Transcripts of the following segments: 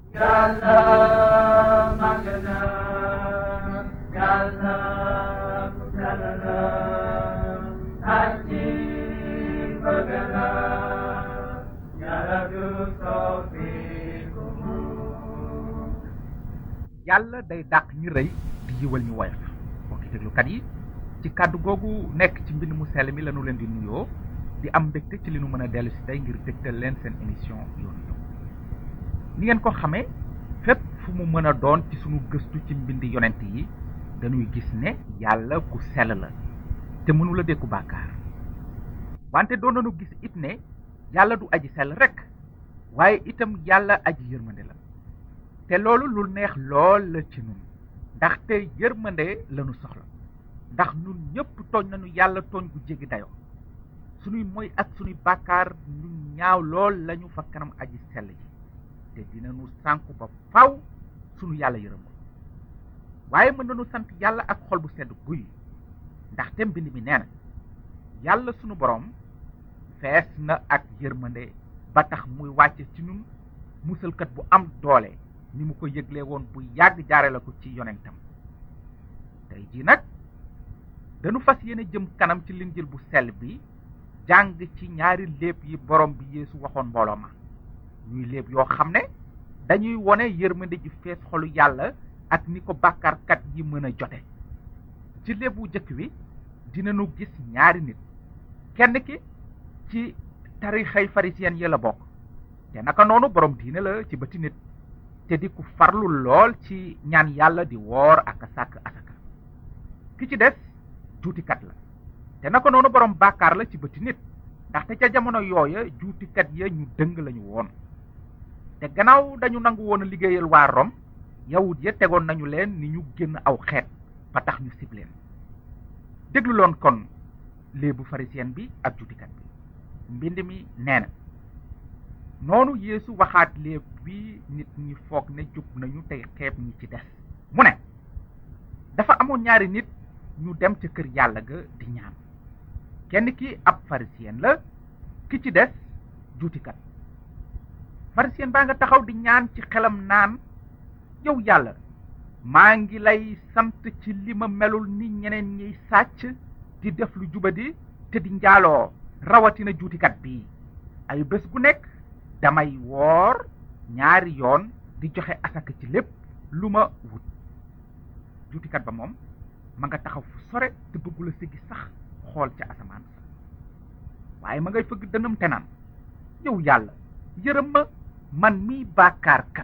yàlla màgg na yàlla ku sell la aji bëgg na yàlla du soppiku yàlla day dàq ñi rëy di yiwal ñu woyof mbokki déglukat yi ci kàddu googu nekk ci mbind mu sell mi lañu leen di nuyoo di am mbégte ci li nu mën a dellu si tey ngir dégtal leen seen émission yoonu njub ni ngeen ko xamee fépp fu mu mën a doon ci sunu gëstu ci mbindi yonent yi dañuy gis ne yàlla ku sell la te mënula dékku bàkkaar wante doon nañu gis it ne yàlla du aji sell rek waaye itam yàlla aji yërmande la te loolu lu neex lool la ci nun ndaxte yërmande lañu soxla ndax nun ñëpp tooñ nañu yàlla tooñ gu jéggi dayoo sunuy moy ak sunuy bàkkaar ñu ñaaw lool lañu fa kanam aji sell ji te dinañu sànku ba faw sunu yàlla yërëm ko waaye mën nañu sant yàlla ak xol bu sedd guy ndaxte mbind mi nee na yàlla sunu boroom fees na ak yërmande ba tax muy wàcce ci ñun musalkat bu am doole ni mu ko yëgle woon bu yàgg jaare la ko ci yonentam tey jii nag dañu fas yéene jëm kanam ci linjil bu sell bi jàng ci ñaari léeb yi borom bi Yeesu waxoon mbooloo ma ñuy léeb yoo xam ne dañuy wone yërmande ji fees xolu yàlla ak ni ko bàkkaarkat yi mën a jote ci léeb bu jëkk wi dinañu gis ñaari nit kenn ki ci tarixay pharisien yi la bokk te naka noonu borom diine la ci bëti nit te di ku farlu lool ci ñaan yàlla di woor ak a sàkk asaka ki ci des juutikat la te naka noonu borom bàkkaar la ci bëti nit ndaxte ca jamono yooya juutikat ya ñu dëng lañu woon te gannaaw dañu nangu woon a liggéeyal waa Rom yawut ya tegoon nañu leen ni ñu génn aw xeet ba tax ñu sib leen déglu loon kon léebu pharisien bi ak juutikat bi mbind mi nee na noonu Yeesu waxaat léeb bi nit ñi foog ne jub nañu tey xeeb ñi ci des mu ne dafa amoon ñaari nit ñu dem ca kër yàlla ga di ñaan kenn ki ab pharisien la ki ci des juutikat pharisien baa nga taxaw di ñaan ci xelam naan yow yàlla maa ngi lay sant ci li ma melul ni ñeneen ñiy sàcc di def lu jubadi te di njaaloo rawatina juutikat bi ay bés gu nekk damay woor ñaari yoon di joxe asaka ci lépp lu ma wut juutikat ba moom ma nga taxaw fu sore te bëggula siggi sax xool ca asamaan sa waaye ma ngay fëgg dënam te naan yow yàlla yërëm ma man mii bàkkaarkat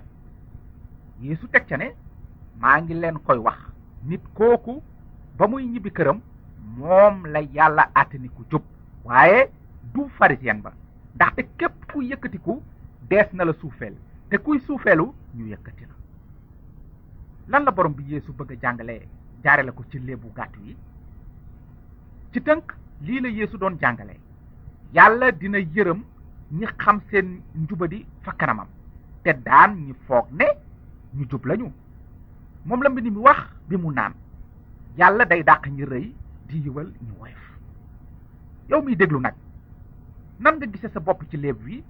Yeesu teg ca ne maa ngi leen koy wax nit kooku ba muy ñibbi këram moom la yàlla àtte ni ku jub waaye du pharisien ba ndaxte képp ku yëkkatiku dees na la suufeel te kuy suufeelu ñu yëkkati la lan la borom bi Yeesu bëgg a jàngale jaare la ko ci léebu gàtt yi ci tënk lii la Yeesu doon jàngale yàlla dina yërëm ñi xam seen njubadi fa kanamam te daan ñi foog ne ñu jub lañu moom la mbind mi wax bi mu naan yàlla day dàq ñi rëy di yiwal ñu woyof yow miy déglu nag nan nga gise sa bopp ci léeb wi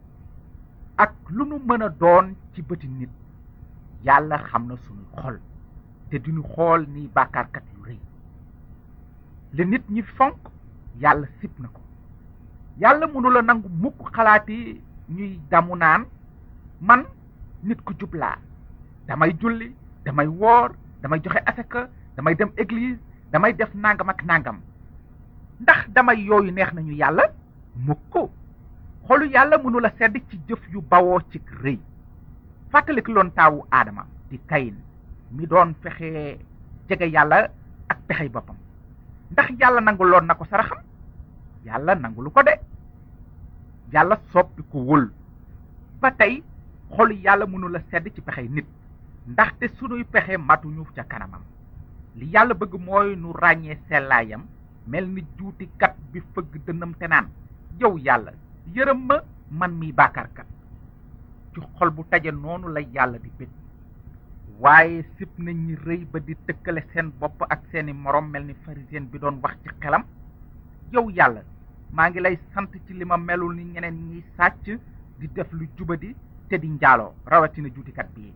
ak lu nu mën a doon ci bëti nit yàlla xam na suñu xol te duñu xool ni bàkkaarkat yu rëy li nit ñi fonk yàlla sib na ko yàlla mënula nangu mukk xalaati ñuy damu naan man nit ku jub laa damay julli damay woor damay joxe asaka damay dem église damay def nangam ak nangam ndax damay yooyu neex nañu yàlla mukk xolu yàlla mënula sedd ci jëf yu bawoo ci rëy fàttalik loon taawu aadama di kayin mi doon fexe jege yàlla ak pexey boppam ndax yàlla nanguloon na ko saraxam yàlla nangulu ko de yàlla soppi ko wul ba tey xolu yàlla mënula sedd ci pexey nit ndaxte sunuy pexe matuñu ca kanamam li yàlla bëgg mooy nu ràññee sellaayam mel ni juutikat bi fëgg dënnam te naan yow yàlla yërëm ma man mi bàkkaarkat ci xol bu taje noonu la yàlla di bég waaye sib nañ ñi rëy ba di tëkkale seen bopp ak seeni morom mel ni pharisien bi doon wax ci xelam yow yàlla maa ngi lay sant ci li ma melul ni ñeneen ñiy sàcc di def lu jubadi te di njaaloo rawatina juutikat bii.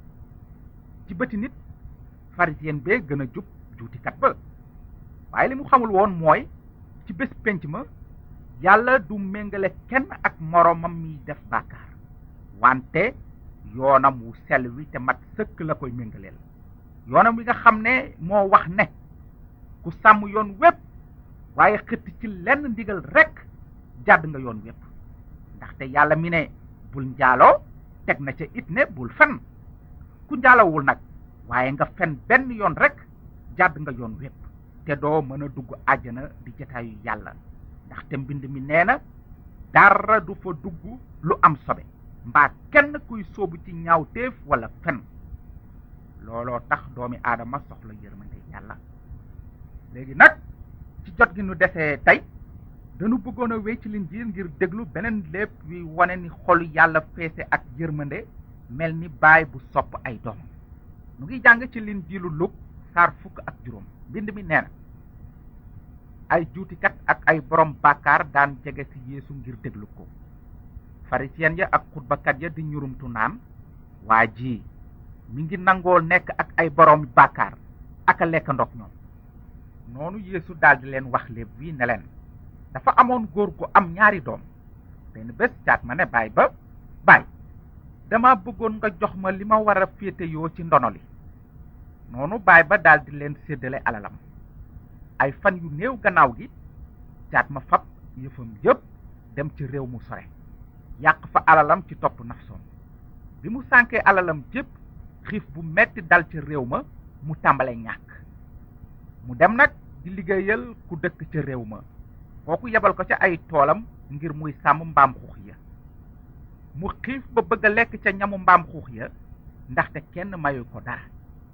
ci bëti nit pharisien bee gën a jub juutikat ba, waaye li mu xamul woon mooy ci bés penc ma yàlla du méngale kenn ak moroomam mi def bàkkaar, wante yoonam wu sell wi te mat sëkk la koy méngaleel. yoonam wi nga xam ne moo wax ne ku sàmm yoon wépp waaye xëtt ci lenn ndigal rekk jàdd nga yoon wépp, ndaxte yàlla mi ne bul njaaloo teg na ca it ne bul fen. ku njaalowul nag waaye nga fen benn yoon rekk jàdd nga yoon wépp, te doo mën a dugg àjjana di jataayu yàlla, ndaxte mbind mi nee na dara du fa dugg lu am sobe mbaa kenn kuy sóobu ci ñaawteef walla fen. looloo tax doomi aadama soxla yërmande yàlla. léegi nag ci jot gi nu desee tey dañu bëggoon a wéy ci Linjiil ngir déglu beneen léeb wi wane ni xolu yàlla feese ak yërmande mel ni baay bu sopp ay doomam. nu ngi jàng ci Linjiilu Luk saar 15. mbind mi nee na ay juutikat ak ay borom bàkkaar daan jege ci Yeesu ngir déglu ko. farisiyen ya ak xutbakat ya di ñurumtu naan, waa ji mi ngi nangoo nekk ak ay borom bàkkaar ak a lekk ndog ñoom. noonu Yeesu daldi leen wax léeb wi ne leen, dafa amoon góor gu am 2 doom. benn bés caat ma ne baay ba, baay dama bëggoon nga jox ma li ma war a féeteyoo ci ndono li. noonu baay ba daldi leen séddale alalam. ay fan yu néew gannaaw gi caat ma fab yëfam yépp dem ci réew mu sore, yàq fa alalam ci topp nafsoom. bi mu sànkee alalam jépp xiif bu metti dal ci réew ma, mu tàmbale ñàkk. mu dem nag di liggéeyal ku dëkk ca réew ma, kooku yebal ko ca ay toolam ngir muy sàmm mbaam xuux ya. mu xiif ba bëgg a lekk ca ñamu mbaam xuux ya, ndaxte kenn mayu ko dara.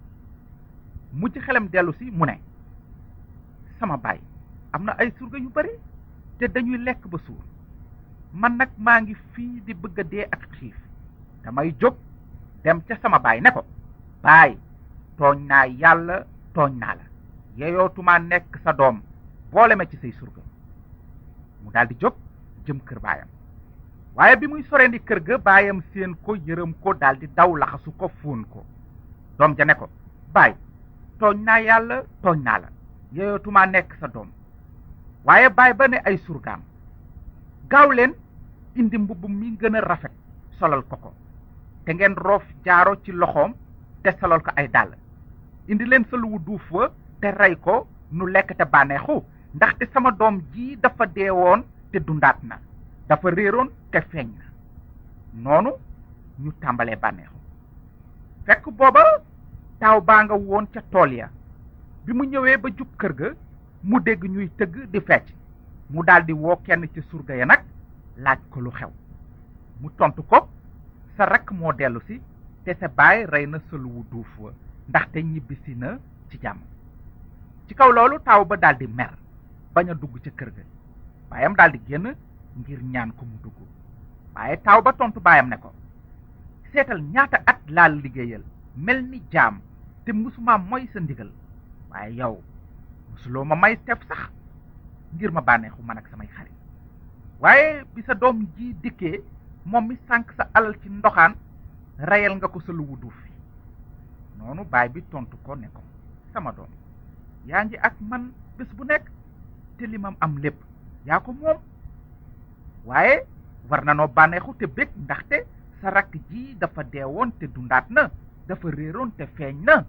mu ci xelam dellu si mu ne, sama baay am na ay surga yu bari te dañuy lekk ba suur, man nag maa ngi fii di bëgg a dee ak xiif. damay jóg dem ca sama baay ne ko, baay tooñ naa yàlla tooñ naa la, yeyootuma nekk sa doom, boole ma ci say surga. mu daldi jóg jëm kër baayam, waaye bi muy soreendi kër ga baayam seen ko yërëm ko daldi daw laxasu ko fóon ko. doom ja ne ko, baay tooñ naa yàlla tooñ naa la, yeyootuma nekk sa doom. waaye baay ba ne ay surgaam, gaaw leen indi mbubb mi gën a rafet solal ko ko, te ngeen roof jaaro ci loxoom te solal ko ay dàll. indi leen sa luwu duuf wa te rey ko, nu lekk te bànneexu, ndaxte sama doom ji dafa deewoon te dundaat na, dafa réeroon te feeñ na. noonu ñu tàmbalee bànneexu. fekk booba taaw baa nga woon ca tool ya. bi mu ñëwee ba jub kër ga, mu dégg ñuy tëgg di fecc. mu daldi woo kenn ci surga ya nag laaj ko lu xew. mu tontu ko, sa rakk moo dellu si te sa baay rey na sa luwu duuf wa, ndaxte ñibbisi na ci jàmm. ci kaw loolu taaw ba daldi mer bañ a dugg ca kër ga. baayam daldi génn ngir ñaan ko mu dugg. waaye taaw ba tontu baayam ne ko, seetal ñaata at laa liggéeyal mel ni jaam te musuma moy sa ndigal, waaye yow musuloo ma may tef sax ngir ma bànneexu man ak samay xarit. waaye bi sa doom ji dikkee, moom mi sànq sa alal ci ndoxaan, reyal nga ko sa luwu duuf fi. noonu baay bi tontu ko ne ko, sama doom yaa ngi ak man bés bu nekk te li mam am lépp yaa ko moom, waaye war na noo bànneexu te bég, ndaxte sa rakk ji dafa deewoon te dundaat na, dafa réeroon te feeñ na.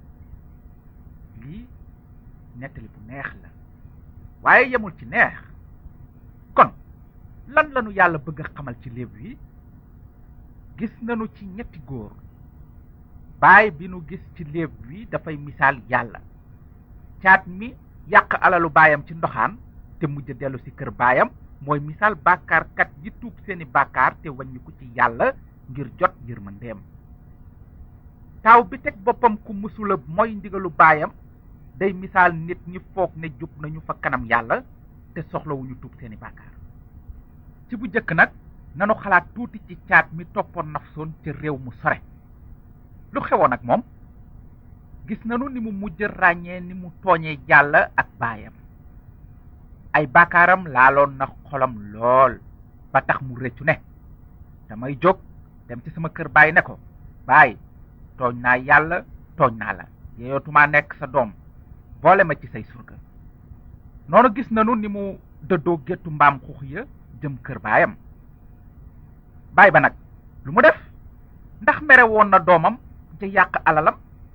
lii nettali bu neex la, waaye yemul ci neex. kon lan lanu yàlla bëgg a xamal ci léeb wi? gis nanu ci ñetti góor. baay bi nu gis ci léeb wi dafay misaal yàlla. caat mi yàq alalu baayam ci ndoxaan te mujj dellu si kër baayam mooy misaal bàkkaarkat yi tuub seeni bàkkaar te wàññiku ci yàlla ngir jot yërmandeem. taaw bi teg boppam ku mësula mooy ndigalu baayam day misaal nit ñi foog ne jub nañu fa kanam yàlla te soxlawuñu tuub seeni bàkkaar. ci bu jëkk nag nanu xalaat tuuti ci caat mi toppoon nafsoon ca réew mu sore. lu xewoon ak moom? gis nanu ni mu mujj ràññee ni mu tooñee yàlla ak baayam. ay bàkkaaram laaloon na xolam lool ba tax mu rëccu ne, damay jóg dem ci sama kër baay ne ko baay tooñ naa yàlla tooñ naa la yeeyootumaa nekk sa doom boole ma ci say surga noonu gis nanu ni mu dëddoo géttu mbaam xuux ya jëm kër baayam baay ba nag lu mu def ndax mere woon na doomam ja yàq alalam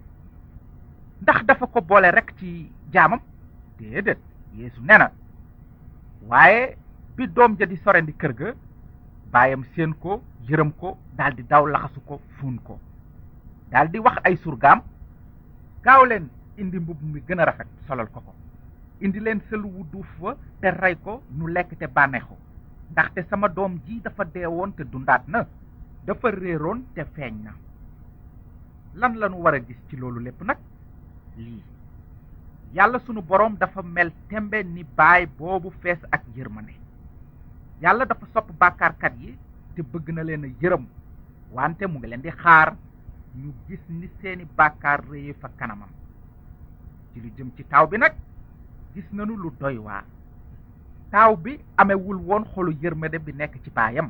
ndax dafa ko boole rek ci jaamam déedéet Yeesu nee na waaye bi doom ja di sorendi kër ga baayam séen ko yërëm ko daldi daw laxasu ko fuun ko daldi wax ay surgaam gaaw leen indi mbubb mi gën a rafet solal ko ko indi leen sëlu wu duuf wa te rey ko nu lekk te bànneexu ndaxte sama doom ji dafa deewoon te dundaat na dafa réeroon te feeñ na lan lanu war a gis ci loolu lépp nag lii yàlla sunu boroom dafa mel tembe ni baay boobu fees ak yërmande yàlla dafa sopp bàkkaarkat yi te bëgg na leen a yërëm wante mu ngi leen di xaar ñu gis ni seeni bàkkaar réye fa kanamam ci lu jëm ci taaw bi nag gis nanu lu doy waar taaw bi amewul woon xolu yërmande bi nekk ci baayam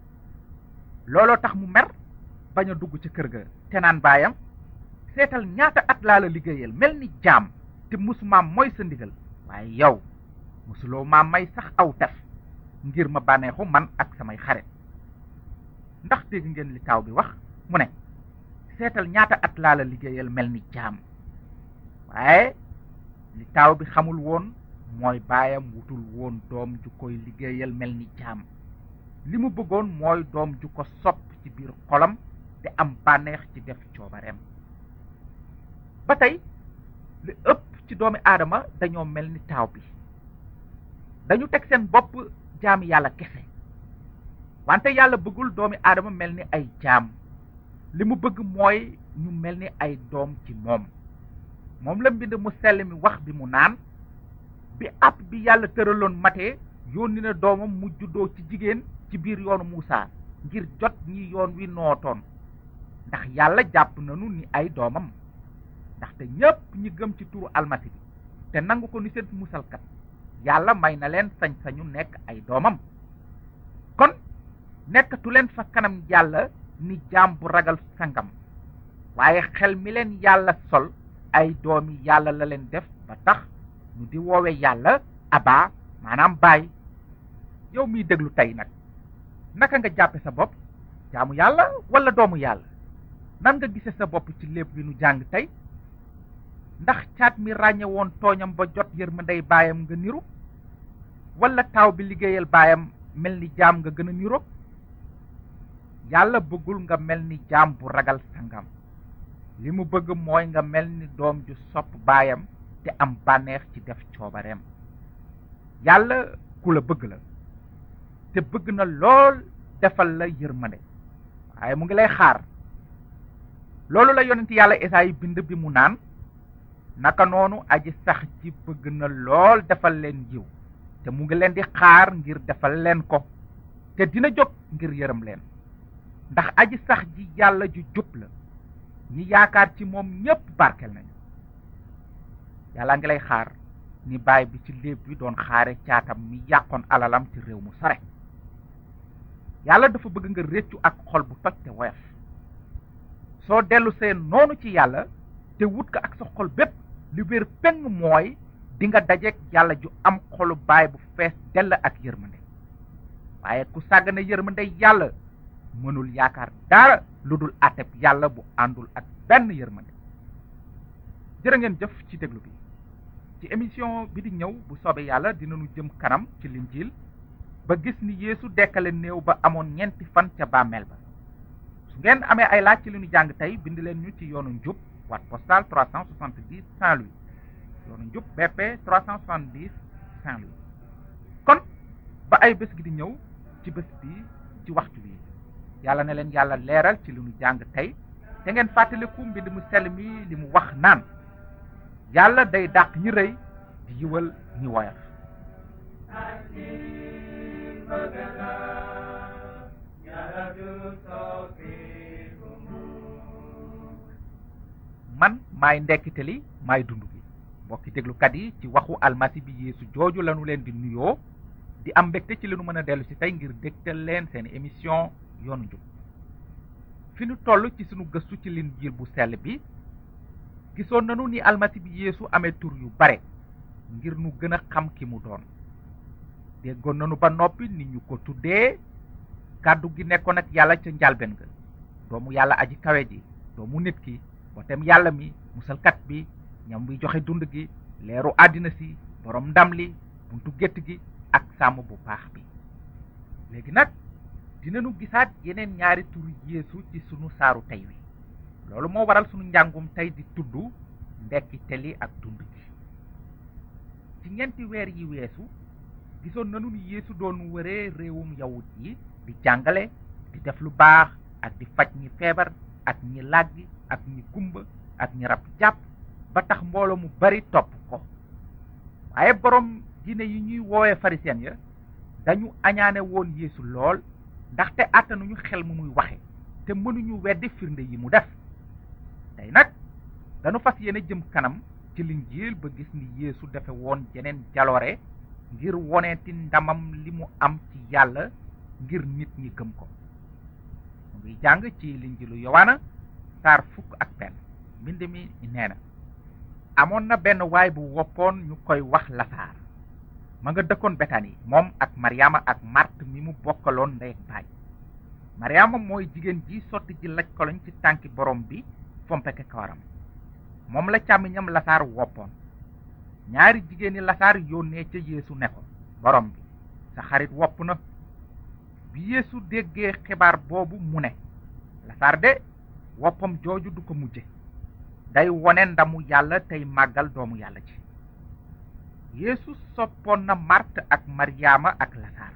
looloo tax mu mer bañ a dugg ci kër ga te naan baayam seetal ñaata at laa la liggéeyal mel ni jaam te musumaam mooy sa ndigal waaye yow musuloo maa may sax aw tef ngir ma bànneexu man ak samay xarit ndax dégg ngeen li taaw bi wax mu ne seetal ñaata at laa la liggéeyal mel ni jaam waaye li taaw bi xamul woon mooy baayam wutul woon doom ju koy liggéeyal mel ni jaam li mu bëggoon mooy doom ju ko sopp ci biir xolam te am bànneex ci def coobareem ba tey li ëpp ci doomi aadama dañoo mel ni taaw bi dañu teg seen bopp jaami yàlla kese wante yàlla bëggul doomi aadama mel ni ay jaam li mu bëgg mooy ñu mel ni ay doom ci moom la mbind mu sell mi wax bi mu naan bi àpp bi yàlla tëraloon matee yónni na doomam mu juddoo ci jigéen ci biir yoonu Muusaa ngir jot ñi yoon wi nootoon ndax yàlla jàpp nanu ni ay doomam ndaxte ñépp ñi gëm ci turu almasi bi te nangu ko ni seen musalkat yàlla may na leen sañ-sañu nekk ay doomam kon nekkatu leen fa kanam yàlla ni jaam bu ragal sangam waaye xel mi leen yàlla sol ay doomi yàlla la leen def ba tax ñu di woowe yàlla aba maanaam baay yow miy déglu tey nag naka nga jàppe sa bopp jaamu yàlla wala doomu yàlla nan nga gise sa bopp ci lépp bi nu jàng tey ndax caat mi ràññe woon tooñam ba jot yërmandey baayam nga niru wala taaw bi liggéeyal baayam mel ni jaam nga gën a niroog yàlla bëggul nga mel ni jaam bu ragal sangam li mu bëgg mooy nga mel ni doom ju sopp baayam te am bànneex ci def coobareem yàlla ku la bëgg la te bëgg na lool defal la yërmande waaye mu ngi lay xaar loolu la yonent yàlla Esaayi bind bi mu naan naka noonu aji sax ji bëgg na lool defal leen yiw te mu ngi leen di xaar ngir defal leen ko te dina jóg ngir yërëm leen ndax aji sax ji yàlla ju jub la ñi yaakaar ci moom ñépp barkel nañu yàlla ngi lay xaar ni baay bi ci léeb bi doon xaare caatam mi yàqoon alalam ci réew mu sore yàlla dafa bëgg nga réccu ak xol bu toj te woyof soo dellu seen noonu ci yàlla te wut ko ak sa xol bépp li wér peng mooy di nga dajeek yàlla ju am xolu baay bu fees dell ak yërmande waaye ku sàggane yërmande yàlla mënul yaakaar dara lu dul àtteb yàlla bu àndul ak benn yërmande jërë ngeen jëf ci déglu bi ci émission bi di ñëw bu soobee yàlla dinañu jëm kanam ci linjiil ba gis ni Yeesu dekkale néew ba amoon 4 fan ca bàmmeel ba su ngeen amee ay laaj ci li ñu jàng tey bind leen ñu ci yoonu njub boîte postale 370 Saint-Louis yoonu njub BP 370 Saint-Louis kon ba ay bés gi di ñëw ci bés bi ci waxtu bi yàlla na leen yàlla leeral ci li ñu jàng tey te ngeen fàttaliku mbind mu sell mi li mu wax naan yàlla day dàq ñi rëy di yiwal ñi woyof man maay ndekkite li maay dund gi mbokki déglukat yi ci waxu almasi bi Yeesu jooju lañu leen di nuyoo di am mbégte ci li nu mën a dellu si tey ngir dégtal leen seen émission yoonu njub fi nu toll ci sunu gëstu ci Linjiil bu sell bi gisoon nanu ni almasi bi Yeesu amee tur yu bare ngir nu gën a xam ki mu doon. déggoon nanu ba noppi ni ñu ko tuddee kàddu gi nekkoon ak yàlla ca njalben ga, doomu yàlla aji kawe ji, doomu nit ki, botem yàlla mi, musalkat bi, ñam wi joxe dund gi, leeru àddina si, borom ndam li, buntu gétt gi ak sàmm bu baax bi. léegi nag dinanu gisaat yeneen ñaari turu Yeesu ci sunu saaru tey wi. loolu moo waral sunu njàngum tey di tudd ndekkite li ak dund gi. ci ñeenti weer yi weesu gisoon nanu ni Yeesu doon wëree réewum yawut yi di jàngale, di def lu baax ak di faj ñi feebar ak ñi làggi ak ñi gumba ak ñi rab jàpp ba tax mbooloo mu bari topp ko. waaye borom diine yi ñuy woowee pharisien ya dañu añaane woon Yeesu lool ndaxte àttanuñu xel mu muy waxe te mënuñu weddi firnde yi mu def. tey nag dañu fas yéene jëm kanam ci Linjiil ba gis ni Yeesu defe woon jeneen jaloore ngir woneeti ndamam li mu am ci yàlla ngir nit ñi gëm ko. mu ngi jàng ci Linjiilu Yowaana saar 11. mbind mi nee na, amoon na benn waay bu woppoon ñu koy wax Lasaar. ma nga dëkkoon Betani, moom ak Maryaama ak Màrt mi mu bokkaloon ndey ak baay. Maryaama mooy jigéen ji sotti ji laj koloñ ci tànki borom bi fompeke kawaram. moom la càmmiñam Lasaar woppoon. ñaari jigéeni Lasaar yónnee ca Yeesu ne ko, borom bi, sa xarit wopp na. bi Yeesu déggee xibaar boobu mu ne, Lasaar de woppam jooju du ko mujje, day wone ndamu yàlla tey màggal doomu yàlla ci. Yeesu soppoon na Màrt ak Maryaama ak Lasaar.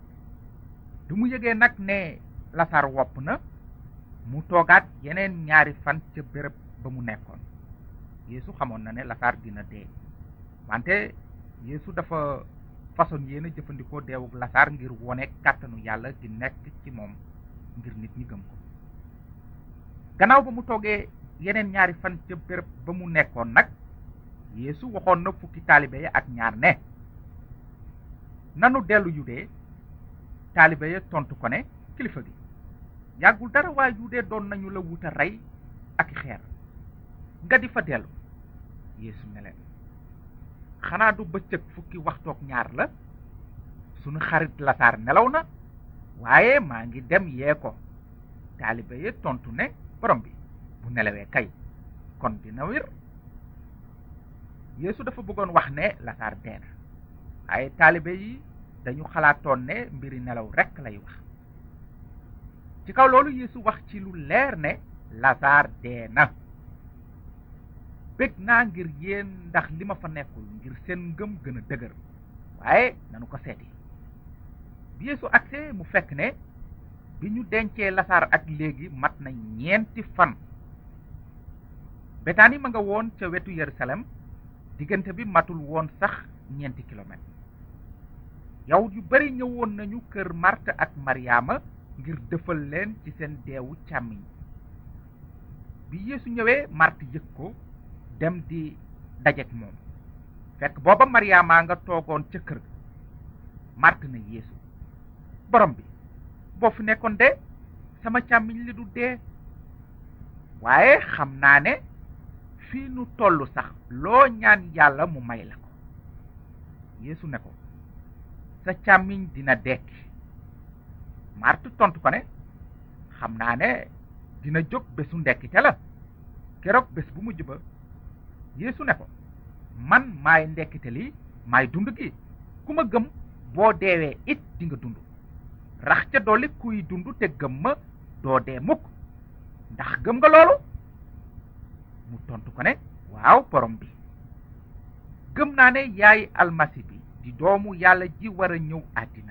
bi mu yëgee nag ne Lasaar wopp na, mu toogaat yeneen ñaari fan ca béréb ba mu nekkoon. Yeesu xamoon na ne Lasaar dina dee, wante Yeesu dafa façon yéena jëfandikoo deewuk Lasaar ngir wone kàttanu yàlla di nekk ci moom ngir nit ñi gëm ko. gannaaw ba mu toogee yeneen ñaari fan ca béréb ba mu nekkoon nag, Yeesu waxoon na fukki taalibe ya ak ñaar ne, nanu dellu Yude. taalibe ya tontu ko ne, kilifa gi, yàggul dara waa Yude doon nañu la wuta rey ak xeer nga di fa dellu. Yeesu ne leen, xanaa du bëccëg fukki waxtook ñaar la? sunu xarit Lasaar nelaw na, waaye maa ngi dem yee ko. taalibe ya tontu ne, borom bi, bu nelawee kay kon dina wér. Yeesu dafa bëggoon wax ne Lasaar dee na, waaye taalibe yi dañu xalaatoon ne mbiri nelaw rekk lay wax. ci kaw loolu Yeesu wax ci lu leer ne Lasaar dee na. bég naa ngir yéen ndax li ma fa nekkul, ngir seen ngëm gën a dëgër, waaye nanu ko seeti. bi Yeesu agsee mu fekk ne bi ñu dencee Lasaar ak léegi mat na 4 fan. Betani ma nga woon ca wetu Yerusalem, diggante bi matul woon sax 4 kilomètres. yawut yu bari ñëwoon nañu kër Màrt ak Maryaama ngir dëfal leen ci seen deewu càmmiñ. bi Yeesu ñëwee, Màrt yëg ko, dem di dajeek moom. fekk booba Maryaama nga toogoon ca kër ga. Màrt na Yeesu, borom bi, boo fi nekkoon de sama càmmiñ li du dee. waaye xam naa ne fii nu tollu sax loo ñaan yàlla mu may la ko. Yeesu ne ko, sa càmmiñ dina dekki. Màrt tontu ko ne, xam naa ne dina jóg bésu ndekkite la, keroog bés bu mujj ba. Yeesu ne ko, man maay ndekkite li, maay dund gi. ku ma gëm boo deewee it di nga dund. rax ca dolli kuy dund te gëm ma doo dee mukk. ndax gëm nga loolu? mu tontu ko ne, waaw borom bi, gëm naa ne yaay almasi bi di doomu yàlla ji war a ñëw àddina.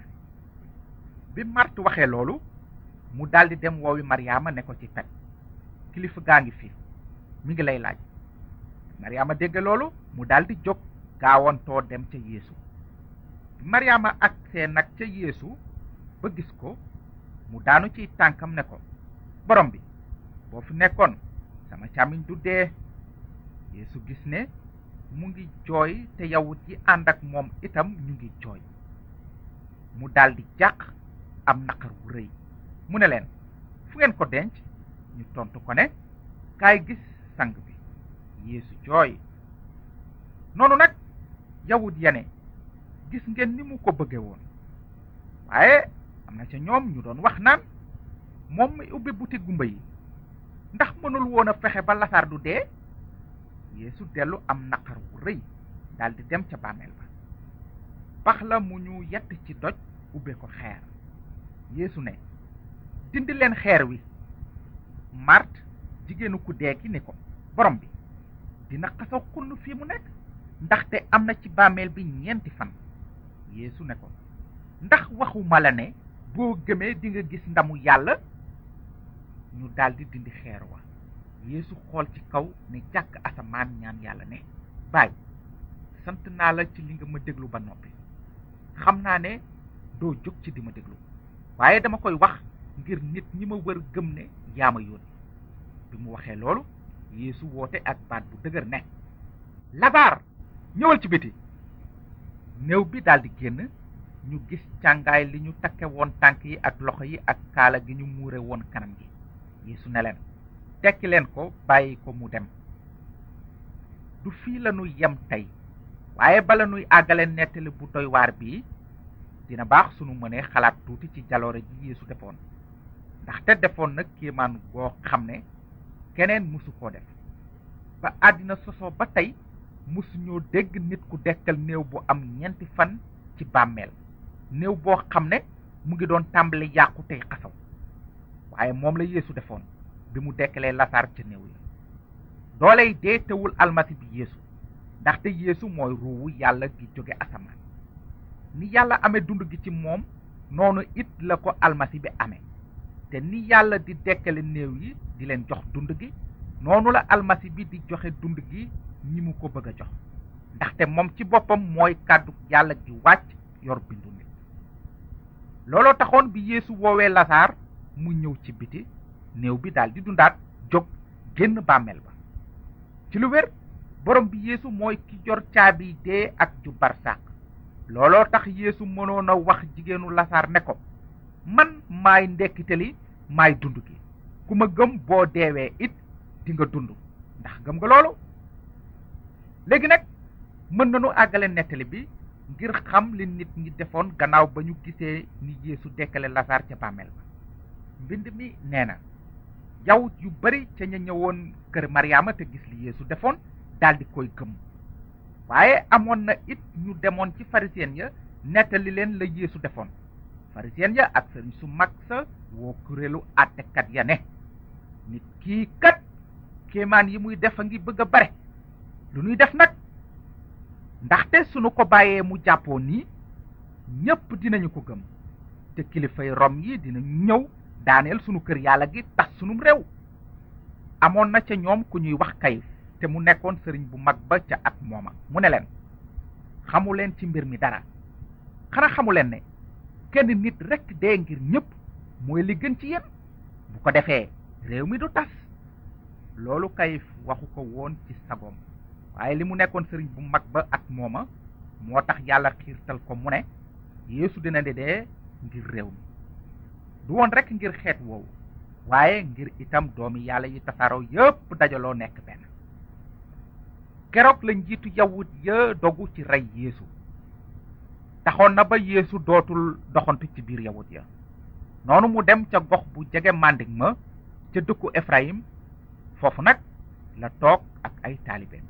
bi Màrt waxee loolu, mu daldi dem woowi Maryaama ne ko ci pet, kilifa gaa ngi fi, mi ngi lay laaj. Maryaama dégg loolu, mu daldi jóg gaawantoo dem ca Yeesu. bi Maryaama agsee nag ca Yeesu ba gis ko, mu daanu ciy tànkam ne ko, borom bi, boo fi nekkoon sama càmmiñ du dee. Yeesu gis ne mu ngi jooy te yawut yi ànd ak moom itam ñu ngi jooy. mu daldi jàq am naqar wu rëy. mu ne leen, fu ngeen ko denc? ñu tontu ko ne kaay gis sang bi. Yeesu jooy. noonu nag yawut ya ne gis ngeen ni mu ko bëgge woon, waaye am na ca ñoom ñu doon wax naan moom mi ubbi buti gumba yi ndax mënul woon a fexe ba lasaar du dee. Yeesu dellu am naqar wu rëy daldi dem ca bàmmeel ba. pax la mu ñu yett ci doj ubbe ko xeer. Yeesu ne dindi leen xeer wi. Màrt jigéenu ku dee ki ne ko borom bi dina xasaw xunn fii mu nekk, ndaxte am na ci bàmmeel bi 4 fan. Yeesu ne ko ndax waxuma la ne boo gëmee di nga gis ndamu yàlla. ñu daldi dindi xeer wa. Yeesu xool ci kaw ne jàkk asamaan ñaan yàlla ne baay sant naa la ci li nga ma déglu ba noppi. xam naa ne doo jóg ci di ma déglu, waaye dama koy wax ngir nit ñi ma wër gëm ne yaa ma yónni. bi mu waxee loolu Yeesu woote ak baat bu dëgër ne lasaar ñëwal ci biti. néew bi daldi génn. ñu gis càngaay li ñu takke woon tànk yi ak loxo yi ak kaala gi ñu muure woon kanam gi. Yeesu ne leen tekki leen ko bàyyi ko mu dem. du fii la nuy yem tey, waaye bala nuy àggale nettali bu doy waar bii dina baax sunu mënee xalaat tuuti ci jaloore ji Yeesu defoon, ndaxte defoon na kéemaan goo xam ne keneen musu koo def. ba àddina sosoo ba tey musu ñoo dégg nit ku dekkal néew bu am 4 fan ci bàmmeel, néew boo xam ne mu ngi doon tàmbali yàqu tey xasaw. waaye moom la Yeesu defoon bi mu dekkalee lasaar ca néew ya. dooley dee tewul almasi bi Yeesu, ndaxte Yeesu mooy ruuwu yàlla gi jóge asamaan. ni yàlla amee dund gi ci moom noonu it la ko almasi bi amee, te ni yàlla di dekkale néew yi di leen jox dund gi noonu la almasi bi di joxe dund gi ñi mu ko bëgg a jox, ndaxte moom ci boppam mooy kàddu yàlla gi wàcc yor bindu nit. looloo taxoon bi Yeesu woowee lasaar mu ñëw ci biti, néew bi daldi dundaat jóg génn bàmmeel ba. ci lu wér borom bi Yeesu mooy ki jor caabi dee ak ju barsàq. looloo tax Yeesu mënoon a wax jigéenu lasaar ne ko man maay ndekkite li maay dund gi, ku ma gëm boo deewee it di nga dund. ndax gëm nga loolu? léegi nag mën nañu àggale nettali bi ngir xam li nit ñi defoon gannaaw ba ñu gisee ni Yeesu dekkale lasaar ca bàmmeel ba. mbind mi nee na yawut yu bari ca ña ñëwoon kër Maryaama te gis li Yeesu defoon daldi koy gëm, waaye amoon na it ñu demoon ci farisiyen ya nettali leen la Yeesu defoon. farisiyen ya ak sëriñ su mag sa woo kuréelu àttekat ya ne nit kii kat kéemaan yi muy def a ngi bëgg a bare, lu ñuy def nag? ndaxte sunu ko bàyyee mu jàppoo nii ñépp dinañu ko gëm, te kilifay Rom yi dinañu ñëw daaneel sunu kër yàlla gi tas sunum réew. amoon na ca ñoom ku ñuy wax Kayif, te mu nekkoon sëriñ bu mag ba ca at mooma. mu ne leen xamu leen ci mbir mi dara, xanaa xamu leen ne kenn nit rekk dee ngir ñépp mooy li gën ci yéen? bu ko defee réew mi du tas. loolu Kayif waxu ko woon ci sagoom, waaye li mu nekkoon sëriñ bu mag ba at mooma moo tax yàlla xiirtal ko mu ne Yeesu dina dee ngir réew mi. du woon rekk ngir xeet woowu, waaye ngir itam doomi yàlla yi tasaaroo yépp dajaloo nekk benn. keroog la njiitu yawut ya dogu ci rey Yeesu. taxoon na ba Yeesu dootul doxantu ci biir yawut ya. noonu mu dem ca gox bu jege Mandik ma ca dëkku Efrayim. foofu nag la toog ak ay taalibeem.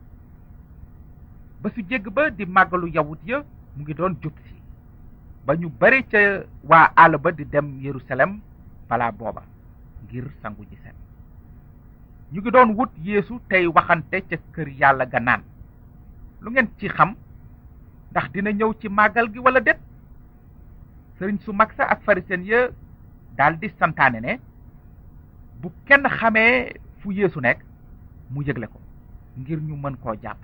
ba su jégg ba di màggalu yawut ya mu ngi doon jub si, ba ñu bari ca waa àll ba di dem Yerusalem balaa booba ngir sangu ji set. ñu ngi doon wut Yeesu tey waxante ca kër yàlla ga naan lu ngeen ci xam, ndax dina ñëw ci màggal gi wala déet? sëriñ su mag sa ak farisen ya daldi santaane ne bu kenn xamee fu Yeesu nekk mu yëgle ko ngir ñu mën koo jàpp.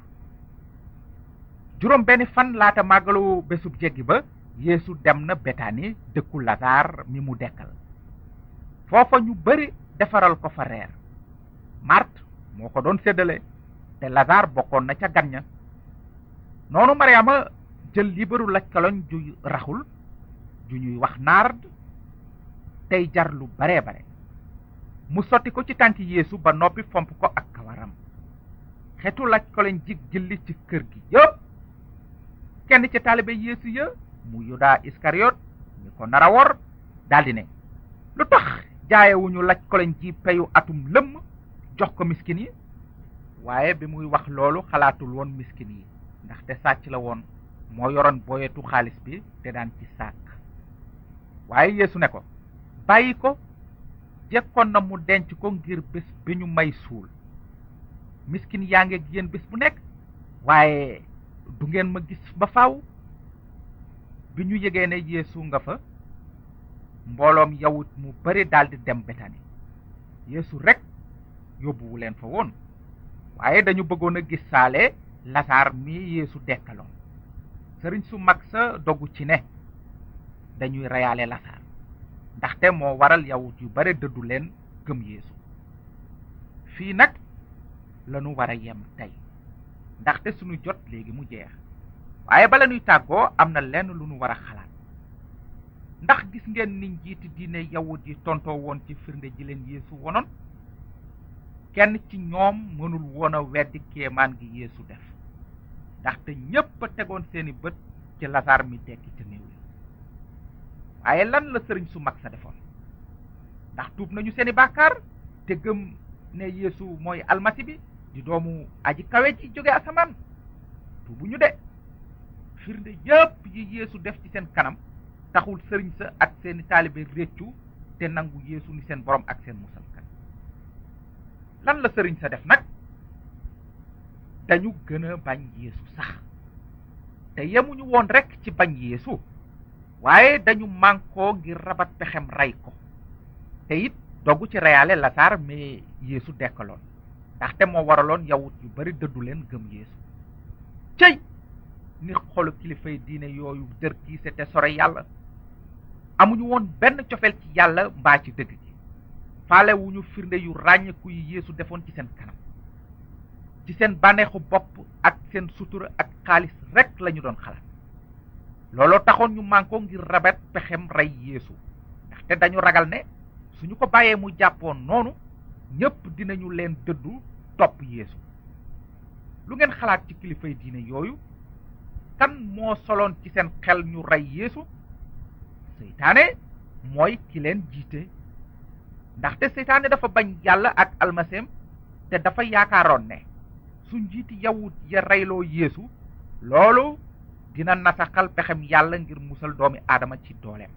juróom benn fan laata màggalu bésub jéggi ba Yeesu dem na Betani dëkku Lasaar mi mu dekkal. foofa ñu bari defaral ko fa reer. Màrt moo ko doon séddale te Lasaar bokkoon na ca gan ña. noonu Maryaama jël liibaru lajkaloñ ju raxul ju ñuy wax naard tey jar lu bare bare mu sotti ko ci tànki Yeesu ba noppi fomp ko ak kawaram. xetu laj ko leen jig jilli ci kër gi yëpp. kenn ci taalibe Yeesu ya mu Yuda Iskariot mi ko nara wor daldi ne, lu tax jaayewuñu laj ko leen ji peyu atum lëmm jox ko miskin yi? waaye bi muy wax loolu xalaatul woon miskin yi, ndaxte sàcc la woon, moo yoroon boyetu xaalis bi te daan ci sàkk. waaye Yeesu ne ko, bàyyi ko, jekkoon na mu denc ko ngir bés bi ñu may suul. miskin yaa ngi ak yéen bés bu nekk, waaye du ngeen ma gis ba faaw. bi ñu yëgee ne Yeesu nga fa, mbooloom yawut mu bari daldi dem Betani. Yeesu rekk yóbbuwu leen fa woon, waaye dañu bëggoon a gis saale Lasaar mi Yeesu dekkaloon. sëriñ su mag sa dogu ci ne dañuy reyaale Lasaar, ndaxte moo waral yawut yu bare dëddu leen gëm Yeesu. fii nag lanu war a yem tey, ndaxte sunu jot léegi mu jeex. waaye bala nuy tàggoo am na lenn lu nu war a xalaat. ndax gis ngeen ni njiiti diine yawut yi tontoo woon ci firnde ji leen Yeesu wonoon? kenn ci ñoom mënul woon a weddi kéemaan gi Yeesu def, ndaxte ñépp a tegoon seeni bët ci Lasaar mi dekki te néew li. waaye lan la sëriñ su mag sa defoon? ndax tuub nañu seeni bàkkaar te gëm ne Yeesu mooy almasi bi di doomu aji kawe ji jóge asamaan? tuubuñu de. firnde yépp yi Yeesu def ci seen kanam taxul sëriñ sa ak seeni taalibe réccu te nangu Yeesu ni seen borom ak seen musalkat. lan la sëriñ sa def nag? dañu gën a bañ Yeesu sax. te yemuñu woon rekk ci bañ Yeesu, waaye dañu mànkoo ngir rabat pexem rey ko, te it dogu ci reyaale Lasaar mais Yeesu dekkaloon, ndaxte moo waraloon yawut yu bari dëddu leen gëm Yeesu. cëy ni xolu kilifay diine yooyu dër kiise te sore yàlla. amuñu woon benn cofeel ci yàlla mbaa ci dëgg gi. faalewuñu firnde yu ràññeeku yi Yeesu defoon ci seen kanam. ci seen bànneexu bopp ak seen sutura ak xaalis rekk lañu doon xalaat. looloo taxoon ñu mànkoo ngir rabet pexem rey Yeesu, ndaxte dañu ragal ne suñu ko bàyyee mu jàppoon noonu ñépp dinañu leen dëddu topp Yeesu. lu ngeen xalaat ci kilifay diine yooyu? kan moo soloon ci seen xel ñu rey Yeesu? seytaane mooy ki leen jiite, ndaxte seytaane dafa bañ yàlla ak almaseem te dafa yaakaaroon ne su njiiti yawut ya reyloo Yeesu, loolu dina nasaxal pexem yàlla ngir musal doomi aadama ci dooleem.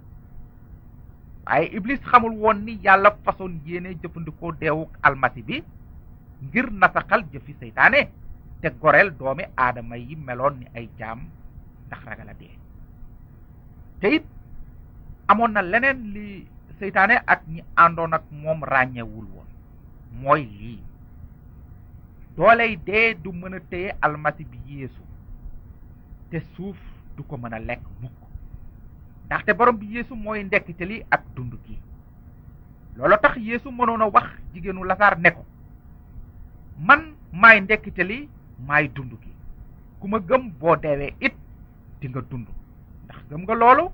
waaye Iblis xamul woon ni yàlla façon yéene jëfandikoo deewuk almasi bi ngir nasaxal jëfi seytaane te goreel doomi aadama yi meloon ni ay jaam ndax ragal a dee. te it amoon na leneen li seytaane ak ñi àndoon ak moom ràññewul woon, mooy lii: dooley dee du mën a téye almasi bi Yeesu, te suuf du ko mën a lekk mukk, ndaxte borom bi Yeesu mooy ndekkite li ak dund gi. loolu tax Yeesu mënoon a wax jigéenu Lasaar ne ko, man maay ndekkite li maay dund gi, ku ma gëm boo deewee it di nga dund. ndax gëm nga loolu?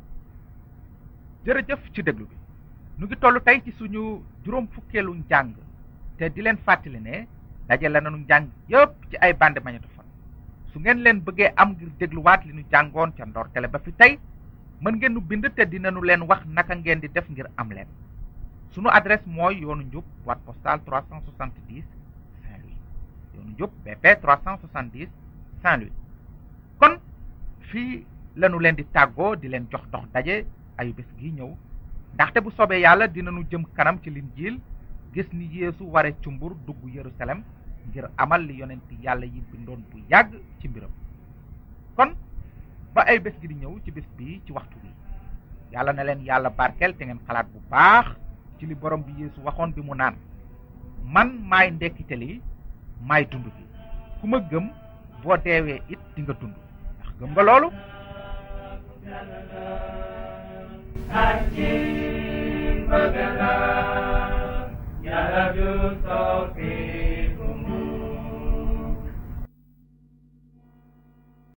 jërëjëf ci déglu bi. nu ngi toll tey ci suñu juróom fukkeelu njàng, te di leen fàttali ne dajale nañu njàng yépp ci ay bande magnétophone. su ngeen leen bëggee am ngir dégluwaat li nu jàngoon ca ndortele ba fi tey, mën ngeen nu bind te dinañu leen wax naka ngeen di def ngir am leen. sunu adresse mooy yoonu njub, boîte postale 370 Saint-Louis. yoonu njub BP 370 Saint-Louis. kon fii lañu leen di tàggoo di leen jox dox daje ayu bés gi ñëw, ndaxte bu soobee yàlla dinañu jëm kanam ci Linjiil, gis ni Yeesu ware cumbur dugg Yerusalem ngir amal li yonent yàlla yi bindoon bu yàgg ci mbiram. kon ba ay bés gi di ñëw ci bés bi ci waxtu bi, yàlla na leen yàlla barkeel te ngeen xalaat bu baax ci li borom bi Yeesu waxoon bi mu naan, man maay ndekkite li maay dund gi, ku ma gëm boo deewee it di nga dund. ndax gëm nga loolu? Yàlla ju soppi